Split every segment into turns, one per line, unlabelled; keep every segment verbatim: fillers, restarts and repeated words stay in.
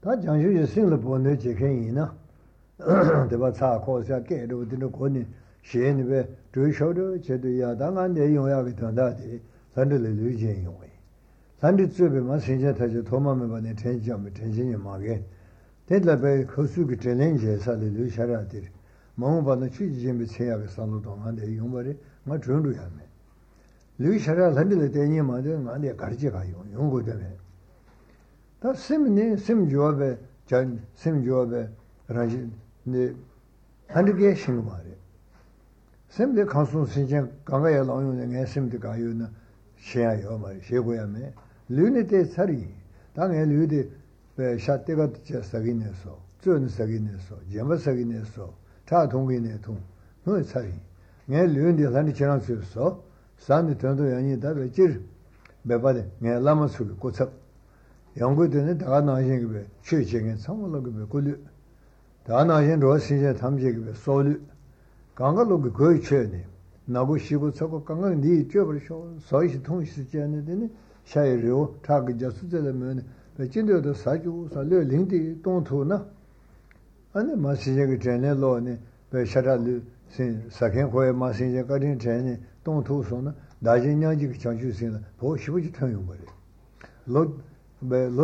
他讲究是生了不能解开你呢，对吧？查考下盖着的那可能写那边追求的绝对要当然得用要给当大的，咱这里流行用的，咱这这边嘛现在他就他妈没把那天讲没天气嘛个，这那边口述个真人介绍的留下来的，忙把那去几没钱要给上路当然得用不的，我准备下面。留下来咱这里电影嘛的，俺得搞这个用用过的没。他什么呢？什么job呗？讲什么job呗？然后呢，俺这个行嘛的。什么的康松新疆刚刚也老用的，俺什么的搞有呢？先要嘛，学过也没。留呢得查理，当然留的，呃，下这个叫啥个呢？说，这呢啥个呢？说，什么啥个呢？说，查通个呢通，我查理。俺留的咱的经常就说，三的团队原因代表今儿，没办的，俺那么出的国策。영국에는 다 나신 게 최적인 상황을 그 고려 다 나신 로시제 탐지게 소리 강가로 그 거의 최네 나고 시고 저거 강강 니 쪄버셔 서이시 통시제는 샤이료 타그 자수제면 진도도 사주 살려 링디 동토나 아니 마시제가 전에로네 베샤라르 신 사켄코에 마시제 가진 전에 동토소나 나진ኛ지 장주신 보 시부지 통용 거래 로
And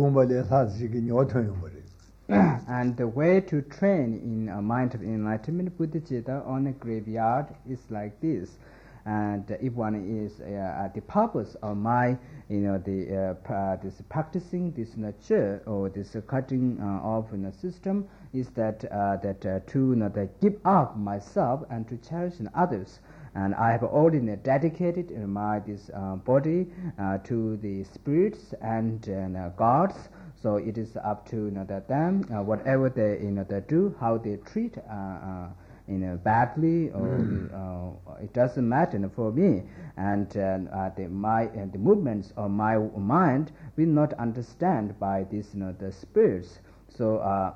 the way to train in a mind of enlightenment Buddhicitta on a graveyard is like this. And if one is uh, at the purpose of my, you know, the uh, this practicing this nature or this uh, cutting uh, off in the system is that uh, that uh, to you know, that give up myself and to cherish others. And I have already dedicated my this uh, body uh, to the spirits and uh, gods. So it is up to you know, that them uh, whatever they you know they do, how they treat uh, uh, you know badly or mm. uh, it doesn't matter for me. And uh, the my uh, the movements of my mind will not understand by this you know the spirits. So uh,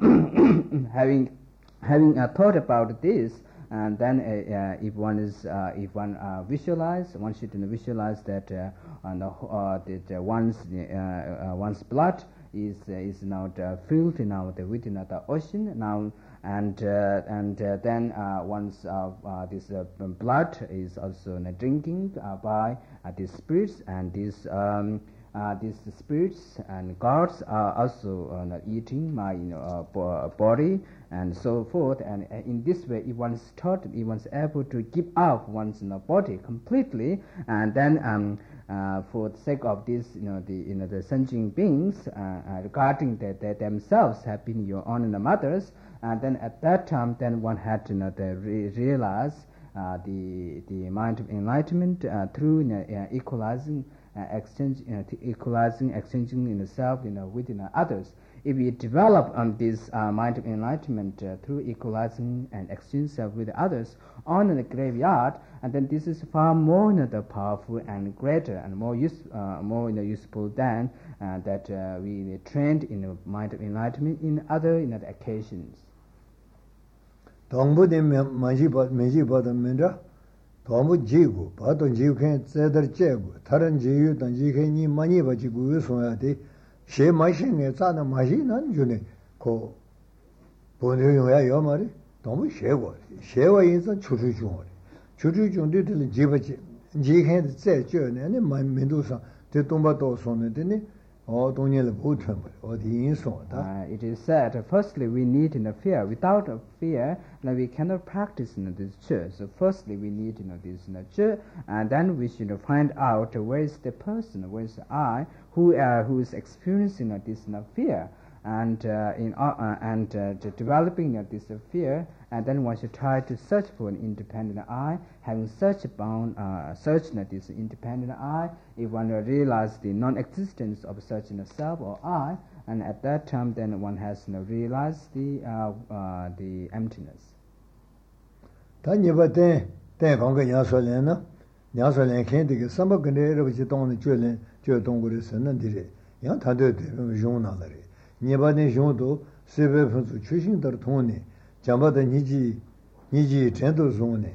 having having uh, thought about this. And then, uh, uh, if one is, uh, if one uh, visualize, one should visualize that uh, on the, uh, that uh, one's uh, uh, one's blood is uh, is now uh, filled now the within the ocean now, and uh, and uh, then uh, one's uh, uh, this uh, blood is also uh, drinking uh, by uh, these spirits, and these um, uh, these spirits and gods are also uh, eating my you know uh, body. And so forth, and uh, in this way, if one is taught, if one is able to give up one's you know, body completely, and then um, uh, for the sake of this, you know, the you know the sentient beings, uh, uh, regarding that they themselves have been your own and mothers, and then at that time, then one had to you know, the re realize uh, the the mind of enlightenment uh, through you know, uh, equalizing, uh, exchange, you know, equalizing, exchanging in the self, you know, within uh, others. If we develop um, this uh, mind of enlightenment uh, through equalizing and exchange self with others on the graveyard, and then this is far more you know, the powerful and greater and more use, uh, more you know, useful than uh, that uh, we trained in the mind of enlightenment in other you know, occasions.
동부 만지 만지 받으면라 동부 지구 받은 지구에 제대로 제고 다른 지구 단지에 많이 가지고 있어야 돼. 제 마신에 자는 마신은 주네 고 본용야 요 말이 너무 쉐고 쉐와 인선 추추중 추추중들들 집어지 지해 제저네 네 만민도상 대동바도 손에더니 어 동년을 보통 어디 인소다.
It is said firstly we need in the fear. Without a fear now we cannot practice in this church. So firstly we need you know this nature, and then we should find out where is the person, where is I who uh, who is experiencing you know, this you know, fear, and uh, in uh, uh, and uh, developing you know, this uh, fear, and then one should try to search for an independent I. Having such bound uh, search you know, this independent I, if one uh, realize the non-existence of such a you know, self or I, and at that time then one has you know, realized the uh, uh, the emptiness.
단예바데 대공가 야설래나 야설래 캔디게 삼박근데 여러분이 동네 줄래 저 동굴에서는 디레 야 다들 용나라래 예바데 용도 세베분수 출신들 통네 잠바데 니지 니지 전도 종네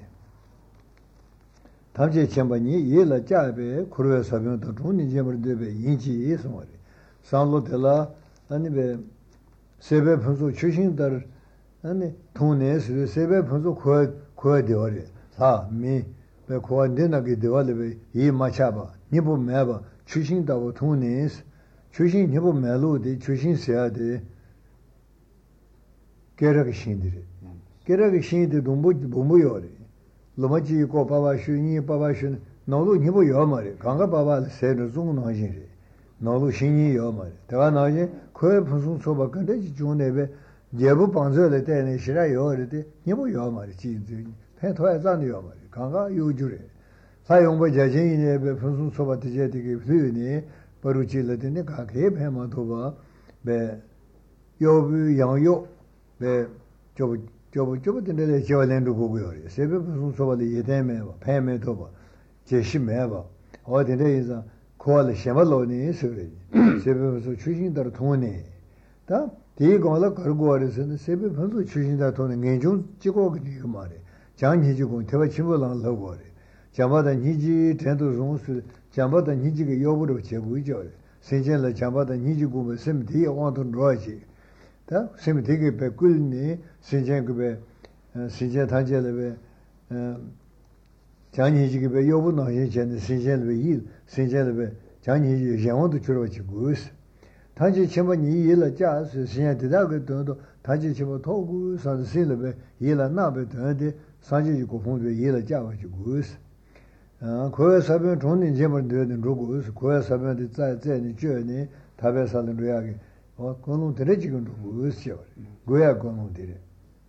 답제 쳔바니 예라 자베 쿠르에 사병도 종니 제버데베 인지 예송어리 산로텔라 아니베 세배 분수 추신들 아니 돈에서 세배 분수 거 거되어리 사미 배 고안되나게 되어리 이 마차바 니보 매바 추신다고 돈에서 추신 니보 매로디 추신세야데 계획이 신들이 계획이 신들 동부 동부요리 로마지 고 바바 슈니 바바 슈 너도 니보 요마리 강가 바바 세르 중 나지리 너도 신이 요마리 대가 나지 거에 무슨 소바 근데 중네베 예부 방저를 때는 싫어 요리데 니보 요마리 지지 패토에 잔이 요마리 강가 요주래 사용부 제진이네 무슨 소바 되게 되니 버루질레데 가게 배마도바 배 요부 양요 배 저부 저부 저부들의 저랜도 보고요. 세배 무슨 소바리 예대매바 패매도바 제심매바 어디에서 코알 셴발로니 소리 세배 무슨 추신다로 통하네 다 디고라 걸고어서 세배 무슨 추신다 통하는 개중 찍고 그 말에 장니지고 대화 친구랑 하고 잠바다 니지 텐도 종수 잠바다 니지가 여부로 제고이죠. 세전에 잠바다 니지고 무슨 뒤에 원도 로지 다 셈이 되게 백글니 신전급에 신전 단계에 장니지급에 여부나 예전에 신전에 일 신전에 장니지 영원도 줄어지고 단지 전번이 일을 자서 신전 대다고 돈도 단지 전번 토구 산실에 일을 나베 되는데 산지 고fon도 일을 자가지고 아 고야 사변 돈이 제물 되는 로고 고야 사변이 자자니 저니 답에서는 로야게 어 그거는 되지금 로고 있어요 고야 그거는 되래.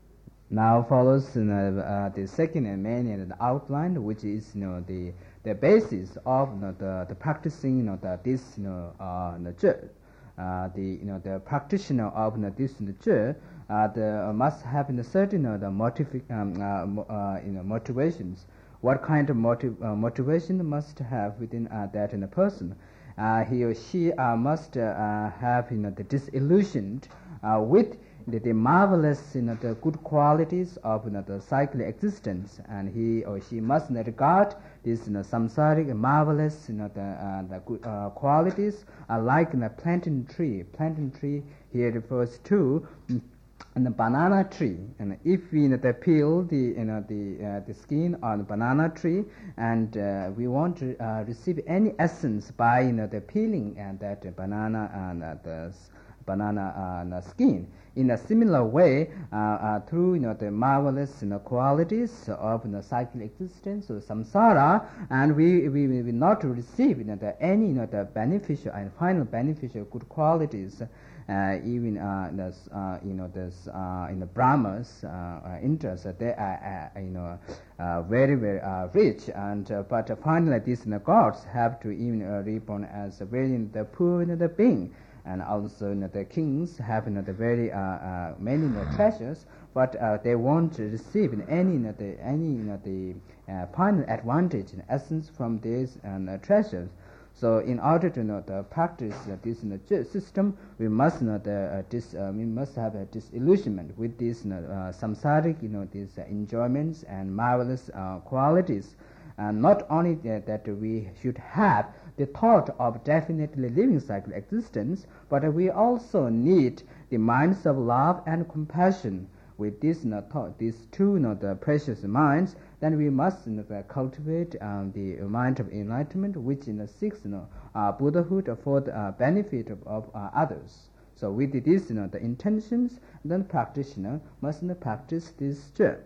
Now follows you know, uh, the second and main you know, the outline, which is you know the the basis of you know, the the practicing you know the this you know uh the church, uh the you know the practitioner of you know, this you know, church uh the uh, must have you know, certain you know, the motiv um, uh, uh, you know motivations. What kind of motiv uh, motivation must have within uh, that in a person? Uh, he or she uh, must uh, have you know the disillusioned uh, with The, the marvelous you know, the good qualities of you know, the cyclic existence, and he or she must not regard these you know, samsaric marvelous you know, the, uh, the good uh, qualities are like in you know, a plantain tree. Plantain tree here refers to mm, and the banana tree, and if we you know, the peel the you know the uh, the skin on the banana tree, and uh, we want to uh, receive any essence by you know the peeling and that uh, banana and uh, the banana uh, the skin. In a similar way, uh, uh, through you know the marvelous you know, qualities of you know, cyclic existence or samsara, and we we will not receive you know, the, any you know, the beneficial and final beneficial good qualities, uh, even uh, this, uh, you know this uh, in the Brahmas uh, uh, interest, uh, they are uh, you know uh, very very uh, rich, and uh, but uh, finally these you know, gods have to even uh, reborn as very you know, the poor you know, the being. And also you know, the kings have you know, the very uh, uh, many you know, treasures, but uh, they won't receive in any you know, the any you know, the uh, final advantage in essence from these uh, treasures. So in order to you know, the practice uh, this you know, system, we must you know, the, uh, dis, uh, we must have a disillusionment with these you know, uh, samsaric you know these uh, enjoyments and marvelous uh, qualities, and not only that, that we should have the thought of definitely living cycle existence, but we also need the minds of love and compassion. With this you know, thought, these two you know, the precious minds, then we must you know, cultivate um, the mind of enlightenment, which you know, seeks you know, uh, Buddhahood for the uh, benefit of, of uh, others. So with this, you know, the intentions, then practitioner must you know, practice this journey.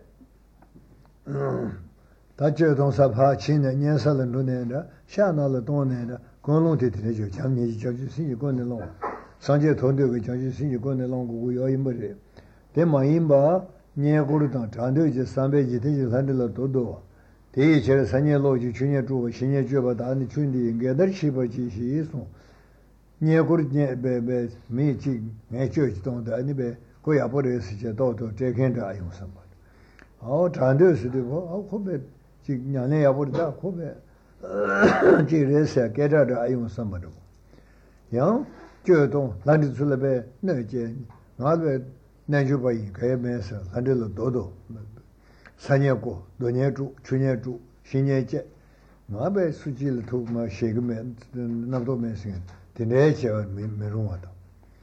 다저 동사파 친의 년살은 눈에다 샤나를 돈에다 공론대 되죠. 장례지 저지 신이 권내로 상제 돈되고 저지 신이 권내로 고고 여인벌이 대마인바 녀고르다 단도지 삼백지 되지 산들로 도도 대체를 산년로지 주년 주고 신년 주보다 아니 준디 인게들 시버지 시소 녀고르 베베 미지 매저지 돈도 아니베 고야 버려서 도도 제겐다 아용선 말. 어 단도스도 어 코베 ஞானே 야버다 코베 지레서 깨다도 아용 선바도 양 저동 난디술레베 너제 나베 난주바이 개메서 한들로 도도 산예고 노녀주 추녀주 신예제 나베 수질 도마 셰그메 남도메스 되네죠 메롱하다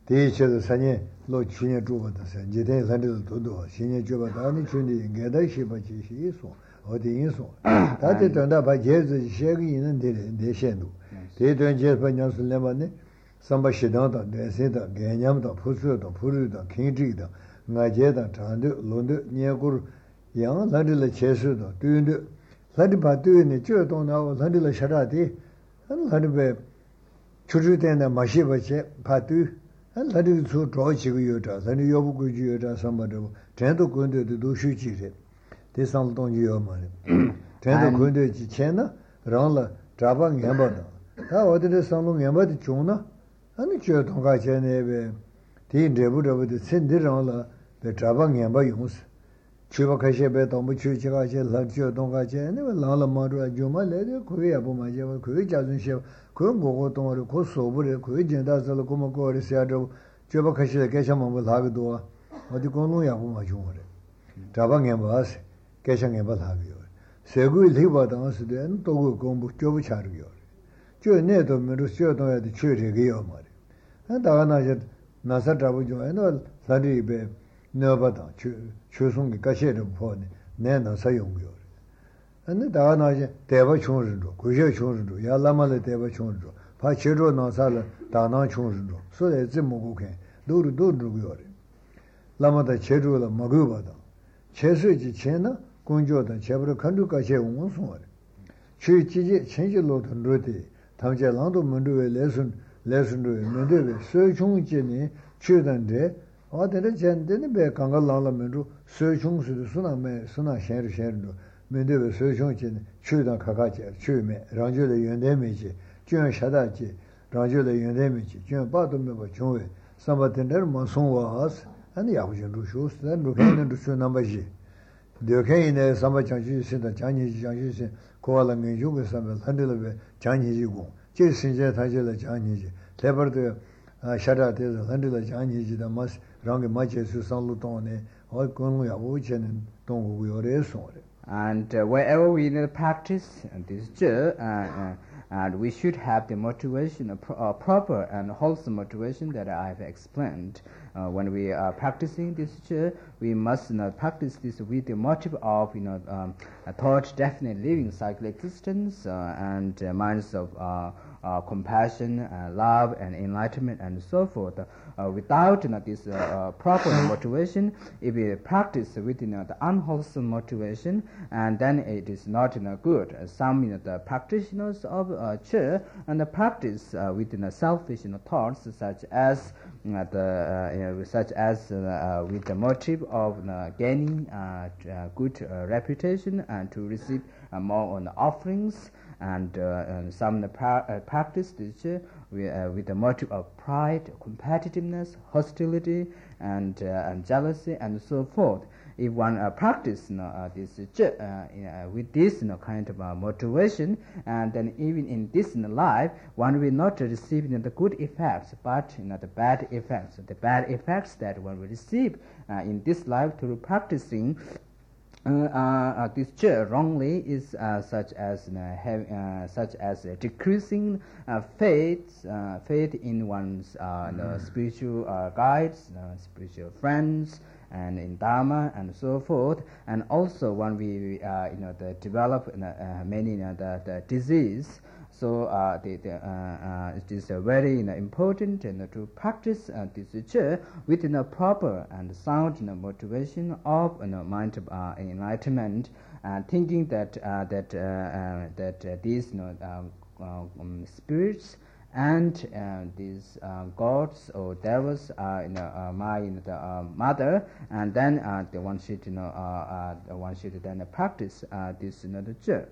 第一次的三年老去年住过的是，今天三年多多，新年住过的你去年应该的是不继续说，我的因说，他这段他把节日写个人的的限度，这段节日娘是两万呢，三百适当的、耐心的、概念的、朴素的、朴素的、kind制的，俺节的、长的、lon的、年过，样咱这来切实的，对的，咱这把对呢，这东那咱这来写啥的，咱这呗，出去点的马西不切，怕对。咱这个从找几个月着，咱这要不规矩月着什么这不，真都滚的都收起来，第三个东西要么的，真都滚的之前呢，让了扎把眼巴的，他我这三路眼巴的中呢，俺那觉同个钱那边，第这不这不的，真的让了被扎把眼巴用死，去吧开些呗，当不去几个钱，他觉同个钱，那个让了嘛着，就嘛来的可以也不嘛些，可以家人些。可我我懂了，可说不的，可以简单说了，我们过的下周，就把开始该想么么哪个多，我的公路也不嘛穷的，这把眼巴是，该想眼巴哪个有，社会里边当时的，多个公布就不差这个有，就那都没有小东西的缺这个有嘛的，那大概那些那啥这不就，那咱这边那不当去去送给这些人跑的，那那啥用不有。那大家那些代表穷人着，贵些穷人着，也那么来代表穷人着，怕切着那啥了，大那穷人着，所以这么个看，都是都是这个样的。那么他切着了，没够吧的，切手之前呢，工作的切不着看着这些我说的，去季节前些老头着的，他们家朗都门着来顺来顺着，门着的，所以穷节呢，去的这，我在这前的那边刚刚朗了门着，所以穷是的，是那没是那闲着闲着。面对着所穷节呢，去到卡卡节，去面，让就来元旦没节，就像下大节，让就来元旦没节，就像八都没把穷位，三八天那么送我儿子，俺也不想读书，咱读看那读书那么些，留看一呢，三八讲起现在讲起讲起些，过了研究个三八，咱这那边讲起去工，这现在他就来讲起去，这边的啊下大节咱这来讲起去的嘛，让给嘛结束上路当呢，我公路也不钱呢，东吴有点送的。
And uh, wherever we need to practice this zhe, uh, uh, and we should have the motivation, uh, pro- uh, proper and wholesome motivation that I have explained. Uh, when we are practicing this zhe, we must you know, practice this with the motive of you know um, a thought definite living cycle existence uh, and uh, minds of uh, uh, compassion, uh, love, and enlightenment, and so forth. Uh, without you know, this uh, uh, proper motivation, if we practice with you know, the unwholesome motivation, and then it is not you know, good. Uh, some you know, the practitioners of uh, Che and the practice uh, with you know, selfish you know, thoughts, such as uh, the uh, you know, such as uh, uh, with the motive of uh, gaining uh, uh, good uh, reputation and to receive uh, more on offerings. And, uh, and some pra- uh, practice this uh, with, uh, with the motive of pride, competitiveness, hostility, and, uh, and jealousy, and so forth. If one uh, practice you know, uh, this uh, uh, with this you know, kind of uh, motivation, and then even in this you know, life, one will not receive you know, the good effects, but you know, the bad effects. The bad effects that one will receive uh, in this life through practicing Uh, uh, this zhe wrongly is uh, such as uh, have, uh, such as uh, decreasing uh, faith, uh, faith in one's uh, the spiritual uh, guides, uh, spiritual friends, and in Dharma and so forth. And also when we uh, you know the develop uh, uh, many you know, the, the disease. So uh, the, the, uh, uh, it is uh, very you know, important you know, to practice uh, this zhe with you know, proper and sound you know, motivation of you know, mind uh, enlightenment, and uh, thinking that uh, that uh, uh, that uh, these you know, um, uh, um, spirits and uh, these uh, gods or devils are you know, uh, my you know, the, uh, mother, and then uh, the one should you know uh, uh, one should then practice uh, this you know, the zhe.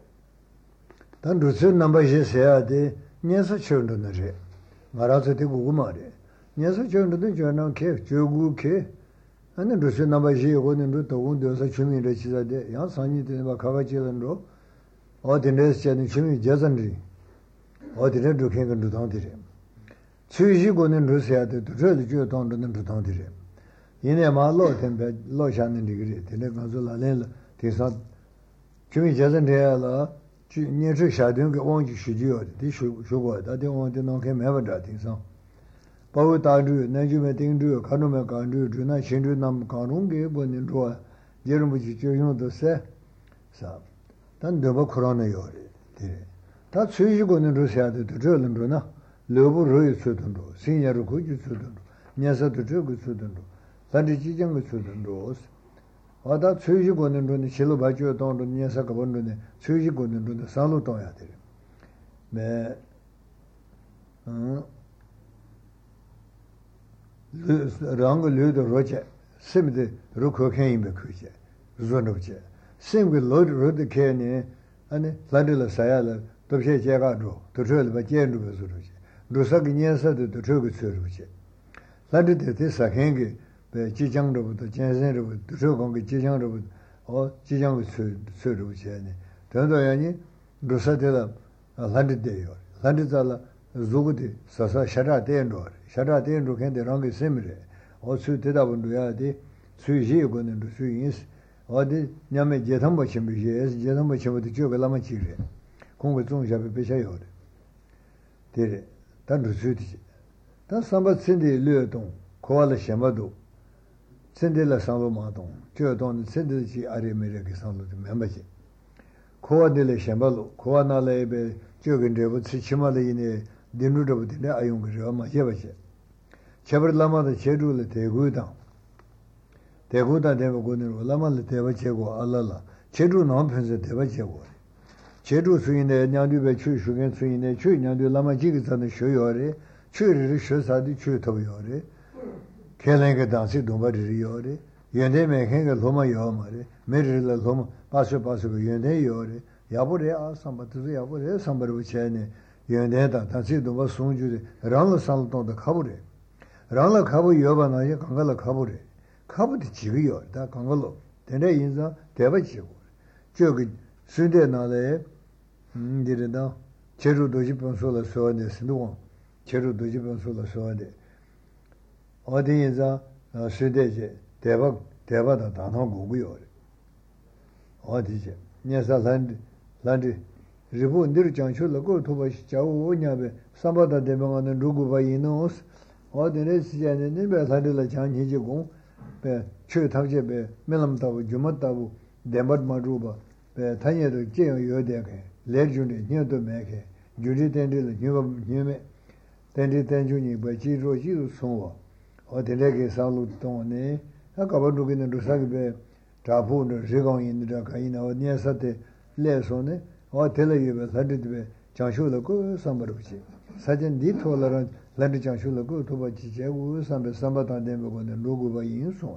Dan rusu namba shi seya de nyesa chundu na re, ngara su te gugu ma re, nyesa chundu de jana ke, chogu ke, ane rusu namba shi yogo nindu togun dosa chumi re chisa de, yang sanyi de nipa kaka chilan ro, o dine se chani chumi jazan ri, o dine dukhen kan dutang di re. Chui shi go nindu seya de, dutre de juyo tong dine dutang di re. Yine ma lo tenpe, lo shan nindu giri, dine kanzu la len la, tingsan, chumi jazan re la, 年初下定给忘记十九的，得修修过，他得忘记弄开没办法听上。 Pao Tadu, Najume Tindu, Kanume Kandu, Juna Shindu Nam Kanungi, Bonin Jerumuchi Joyon to say, Sam. Then Deba Kurana Yori. That Sujigon in Russia to Jolanduna, Lobo Roy Sudandu, Senior Kuju Sudandu, Nyasa to Jogu Sudandu, Sandy Jijang Sudandu. Or that Sujigon in the Shilobajo Don, Nyasa Kabundune, Sujigon in the Salutoya. Me Rang Ludo Roger, Sim the Ruko came Becuja, Zonoche. Sing with Lord Rod Kenny and Fladilla Sayala, Toshe Jagado, to trail by Jen Ruzuruche. Rusaginiasa to Togu Suruche. Fladid this a hangy, the Chijang the Jansen to Togongi Chijang or Chijang Suruche. Tandoyani, Rusatella, a landed day or Landizala, Zugudi, Sasa Shara Dendor, Shara Dendor can the wrong simile, also Tedabunduadi, Suji going into Suis. Or the Yame Jetamba Chimbies, Jetamba Chim with the Jogalama Chile. Congo Shabi Peshayor. Did it? That was Suti. That's somebody Cindy Luton, Koala Shamado, Cindy La Salomaton, Jodon, Cindy Arimeriki Salo, membership. Koa de la Shambalo, Koana Lebe, Jogan with Sichimali in a Dinuda with the Ayunga, Yavache. Chabar Lama the Chedu let they go down. Teguda deva gunir lama le deva chego alala chedu non pense deva chego chedu suine nyandu be chu shugen suine chu nyandu lama jig san shu yore chu ri shu sa di chu to yore kelen ge dan si domba ri yore yende me khen ge loma yo mare me ri la loma pasu pasu ge yende yore yabure a samba tu yabure sambar bu chene yende da dan si domba sung ju rang sal to da khabure rang la khabu yoba na ye kangala khabure Kabut Chigio, that Congolo, the Inza, Devachigo. Jog Sunday Nale, did it now. Cheru Dojipon Sola Soade, Snuon, Cheru Dojipon Sola Soade. Odi Inza, Sunday, Deva, Deva, the Dano Guguio. Odije, Niasa Land, Landi, Ribu, Nirjan Shula, go to Chao, Nyabe, Sambata Devan and Ruguva Inos, or the rest, and Niba Sadilla Chan Hijigon. Chu Tavje, Melamtavu, Jumatavu, Demad Maruba, Tanya to Jay Yodeke, Legend, near to Make, Judy Tendil, Nume, Tendi Tenjuni, by Chiro Jiru Sova, or the Lege Salut Tone, Akabadukin and Rusagbe, Tapu, Zigon in the Kaina, or near Sate, Lesone, or Tele, Sadit, Chanshula, Sambaruchi. Sergeant D. Tolerant, Landy Chanshula, go to Bachichu, Samba Sambata Demo, and Logo in so.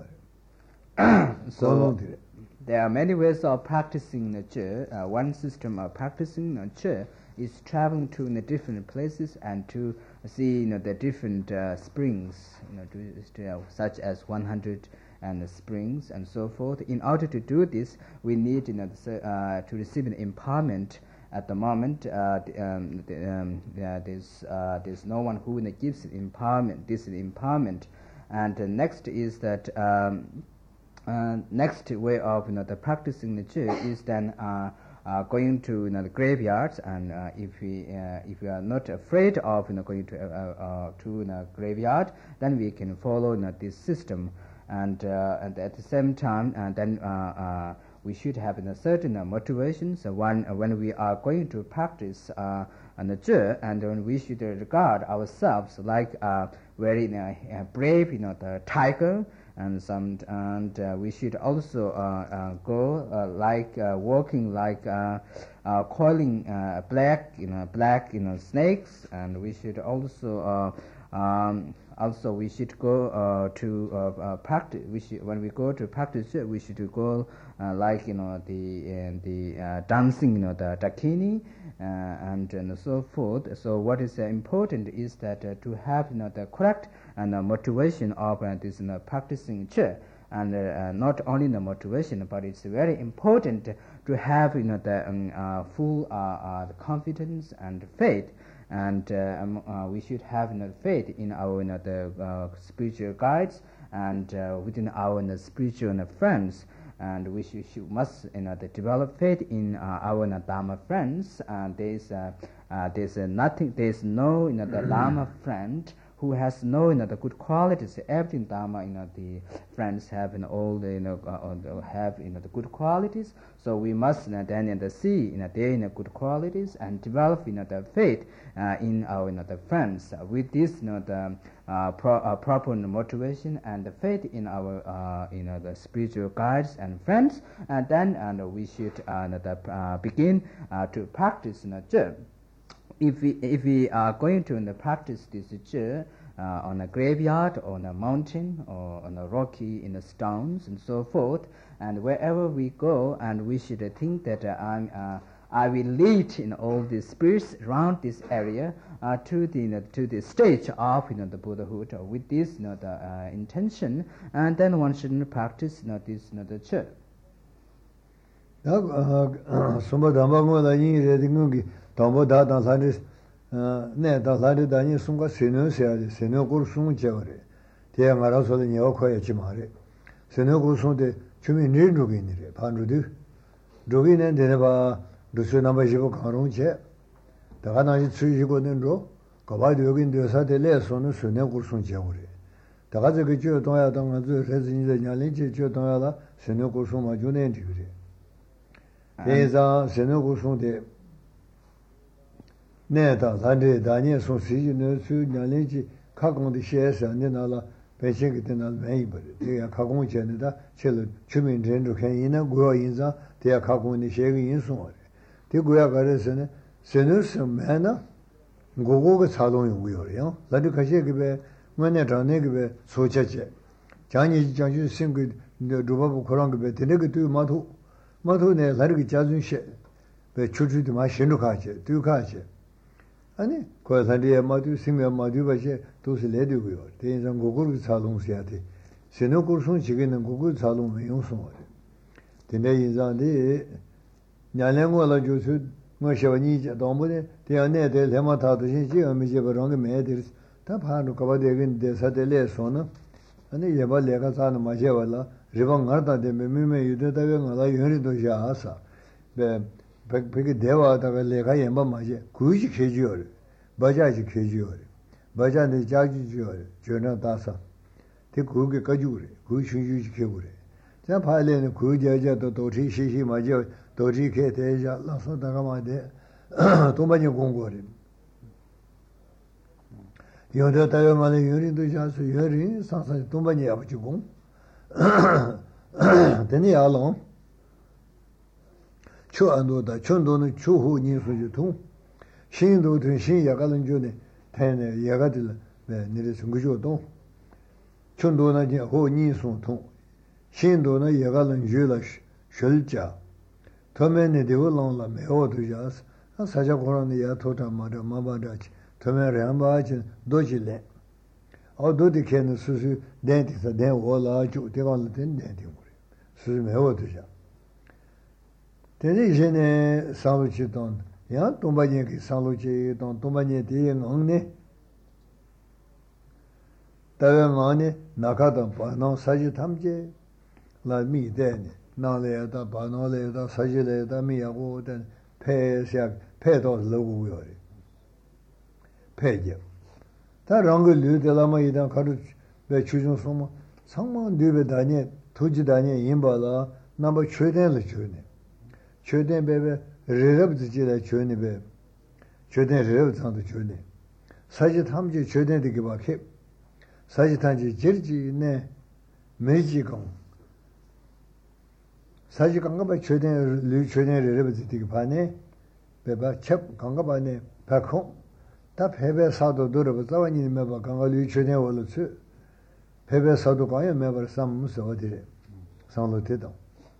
So there are many ways of practicing the church. Uh, one system of practicing the church is traveling to the different places and to see, you know, the different uh, springs, you know, to, to, uh, such as one hundred and springs and so forth. In order to do this, we need, you know, uh, to receive an empowerment. At the moment, uh, um, the, um, yeah, there's uh, there's no one who gives empowerment. This is empowerment, and uh, next is that um, uh, next way of, you know, the practicing the church is then uh, uh, going to, you know, the graveyards, and uh, if we uh, if we are not afraid of, you know, going to uh, uh, to you know, graveyard, then we can follow, you know, this system, and uh, and at the same time, and then. Uh, uh, We should have a certain uh, motivation. So when uh, when we are going to practice uh, on the church, and when we should regard ourselves like uh, very uh, brave, you know, the tiger, and some, and uh, we should also uh, uh, go uh, like uh, walking like uh, uh, coiling uh, black, you know, black, you know, snakes, and we should also. Uh, um, Also, we should go uh, to uh, uh, practice. We should, when we go to practice, we should go uh, like, you know, the uh, the uh, dancing, you know, the dakini, uh, and and so forth. So what is uh, important is that uh, to have, you know, the correct and uh, motivation of uh, this, you know, practicing church, and uh, uh, not only the motivation, but it's very important to have, you know, the um, uh, full uh, uh, the confidence and faith. And uh, um, uh, we should have, you know, faith in our, you know, the uh, spiritual guides, and uh, within our, you know, spiritual, you know, friends, and we should, should must, you know, the develop faith in uh, our, you know, Dharma friends. And there's uh, uh, there's uh, nothing, there's no, you know, the Lama friend who has no, you know, the good qualities. Every Dharma, you know, the friends have, you know, all the, you know, uh, have, you know, the good qualities. So we must, you know, then, you know, see, you know, their, you know, good qualities and develop, you know, the faith uh, in our, you know, the friends. Uh, with this, you know, the uh, pro, uh, proper motivation and the faith in our, uh, you know, the spiritual guides and friends, and then, and we should uh, the, uh, begin uh, to practice, you know, Zhe. If we, if we are going to, you know, practice this Zhe uh, on a graveyard, or on a mountain, or on a rocky, in the stones, and so forth, and wherever we go, and we should uh, think that uh, I'm, uh, I will lead in all the spirits around this area uh, to the, you know, to the stage of, you know, the Buddhahood, uh, with this, you know, the uh, intention, and then one should practice, you know, this, you know, the Zhe.
Sumba Dhamma Ngola Yin Redi Ngungi Dhamma Da Dan Sari Ne Dan Sari Dani Sunga Senu Siari Senu Gur Sung Chevare Tia Ngara Soda Nyawa Kwaya Chimare Senu Gur Sung De Chumi Nir Nugi Nire Pan Rudu Rugi Nen Dene Ba Rusu Namba Jibo Karung Che Daga Nanji Tsui Jibo Nendro Kaba Yogin Desa De Le Sonu Senu Gur Sung Chevare Daga Zeki Chio Tonga Tonga Zu Rezi Nile Nyalin Che Chio Tonga La Senu Gur Sung Ma Junen Tigre Teza Senu Sung de Neta Sande Daniel Sung Si No Su Nyalinchi Kakong de Shes and Nala Penching Tenal Maber. They are Kakong Chanada, Chil Chumin Tendo Kanina, Gua Inza, they are Kakong the Shaggy in Summer. The Gua Garesene, Senus Mana, Gogo Salon Wheel, Ladukashake, Maneta Negbe, Sochache, Chinese Janju Singed the Dubabu Korangbe, the negative Matu. 마토네 라르기 자준셰 베 추추디 마신로 가체 두 가체 아니 고산디에 마두 심면 마두 바셰 도스 레디고요 대인상 고고르 자동시야데 세노고르손 지게는 고고 자동 외용송어 근데 인자데 냐랭고라 조수 뭐셔니 도모데 대안에데 레마타도신 지어미제 버랑게 메데르 다 파노 가바데긴 데사데레 소나 아니 예발 내가 사는 마제발라 Ribang Arta de Mime Yudavang La Yunido Jasa, the Peggy Deva Lega Yamba Maje, Kuji Kejior, Bajaji Kejior, Bajan de Jaji, Jona Dasa, the Kugi Kajuri, Kushu Kibure. Zapale, Kujaja, Doti Shishi Majo, Doti Keteja, Lasso Dagamade, Tomani Gongori. Yoda Tayamale Yunido Jasu Yuri, Sansa Tomani Abjugum. Teni along Chu Andoda, Chundono, Chuhu Ninsu Tung, Shindo to Shin Yagalan Juni, Ten Yagadil, Nirisungujo Dong, Chundona Ho Ninsu Tung, Shindona Yagalan Julash, Shulja, Tomene de Ulong Meo to Jas, and Sajakoran Yatota Mada Mabadach, Tomer Rambach, Dojile. Although the can Susu dentist, then all are to take on the denting. Susu Meotisha. Tenisian Saluchiton, Yan Tombani Saluchiton, Tombani and Only Tavamani, Nakata, Pano, Sajitamje, like me then, Naleta, Panoleta, Sajileta, Mia Wood, and Pesiak, Petos Logo. Pedia. 다 랑글 류들라마 이단 가르 배 추중 소모 상만 류베 다니 토지 다니 임바라 넘버 최대를 주네 최대 베베 레럽지라 주네 베 최대 레럽상도 주네 사지 탐지 최대되게 바케 사지 탐지 질지네 매지공 사지 강가바 최대 류 최대 레럽지게 바네 베바 첩 강가바네 박홍 다 배배 사도 들어봐 자원이 매바 강가리 전에 올었지 배배 사도 가야 매바 삼무서 어디래 상로 되다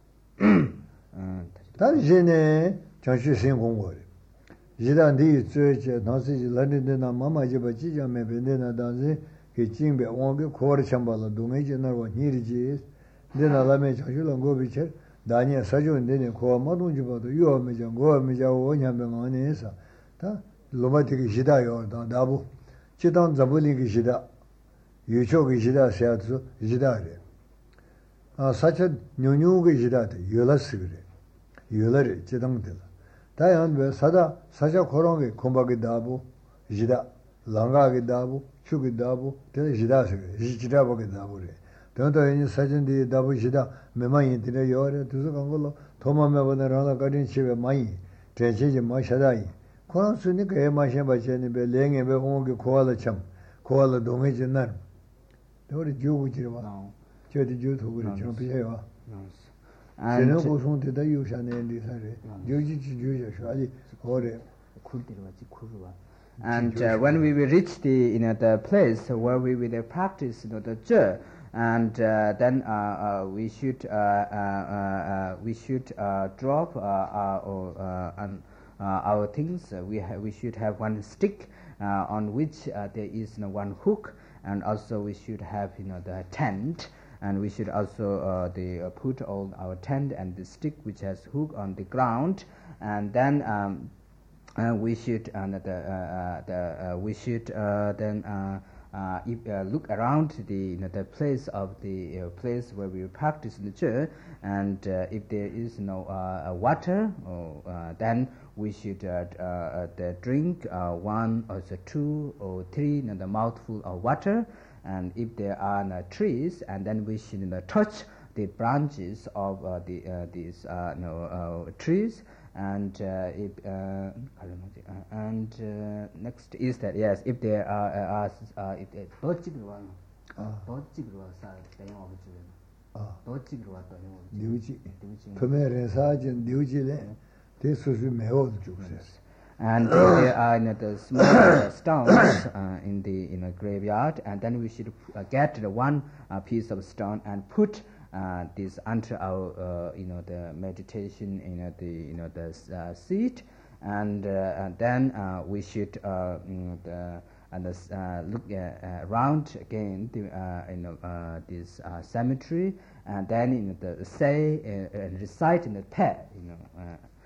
음 다시네 정신 공부를 이단디 저저 나시 런던나 마마지 바지자 매베나 다지 그 징배 원게 코르 참발로 동해지나고 니리지 내나라메 자주는 고비체 다니야 사주는데 고 마동지 봐도 요메장 고메자 오냐면 안에서 다 로마틱이 시다요 다부 지단 잡을리기 시다 유초기 시다 세아도 시다래 아 사체 뉴뉴기 시다데 열었어 그래 열어래 지당들 다yan 왜 사다 사자 고롱이 공박이 다부 시다 랑가게 다부 추게 다부 대 지다서 지다보게 다부래 더더 이 사진디 다부 지다 매만이 되려 요래 두서 간 걸로 도마매번에 하나 가린 집에 많이 대체지 마셔다이 코란스니 그 마셔 바체니 베 랭에 베 홍게 고알을 참 고알을 동해진 날 우리 주부지로 와 저디 주도 그래 좀 비해요
And
저는 고송되다 요샤네 리사래 여기 주주셔 아니 오래
And uh, when we will reach the you know the place where we will practice you know the zhe, and uh, then uh, uh, we should uh, uh, uh, we should uh, drop uh, our uh, um, uh, our things. Uh, we ha we should have one stick uh, on which uh, there is you know, one hook, and also we should have you know the tent, and we should also uh, the uh, put all our tent and the stick which has hook on the ground, and then. Um, Uh, we should uh, the, uh, the, uh, we should uh, then uh, uh, if, uh, look around the you know, the place of the uh, place where we practice the zhe, and uh, if there is no uh, water, or, uh, then we should uh, uh, the drink uh, one or the two or three you know, the mouthful of water, and if there are no trees, and then we should you know, touch the branches of uh, the uh, these uh, you know, uh, trees. And uh, if uh, and uh, next is that yes, if there are uh, uh, if there 도치그와 도치그와 사 대용 없지. 아 도치그와 대용 없지.
뉴지. 토메레 사진 뉴지래. 대수수 매워 주세요.
And uh, there are you know, the small uh, stones uh, in the in a graveyard, and then we should uh, get the one uh, piece of stone and put. Uh, this under our uh, you know the meditation you know the you know the uh, seat, and, uh, and then uh, we should uh, you know, the, and uh, look uh, around again the uh, you know uh, this uh, cemetery, and then you know the say uh, and recite in the te you know. Uh,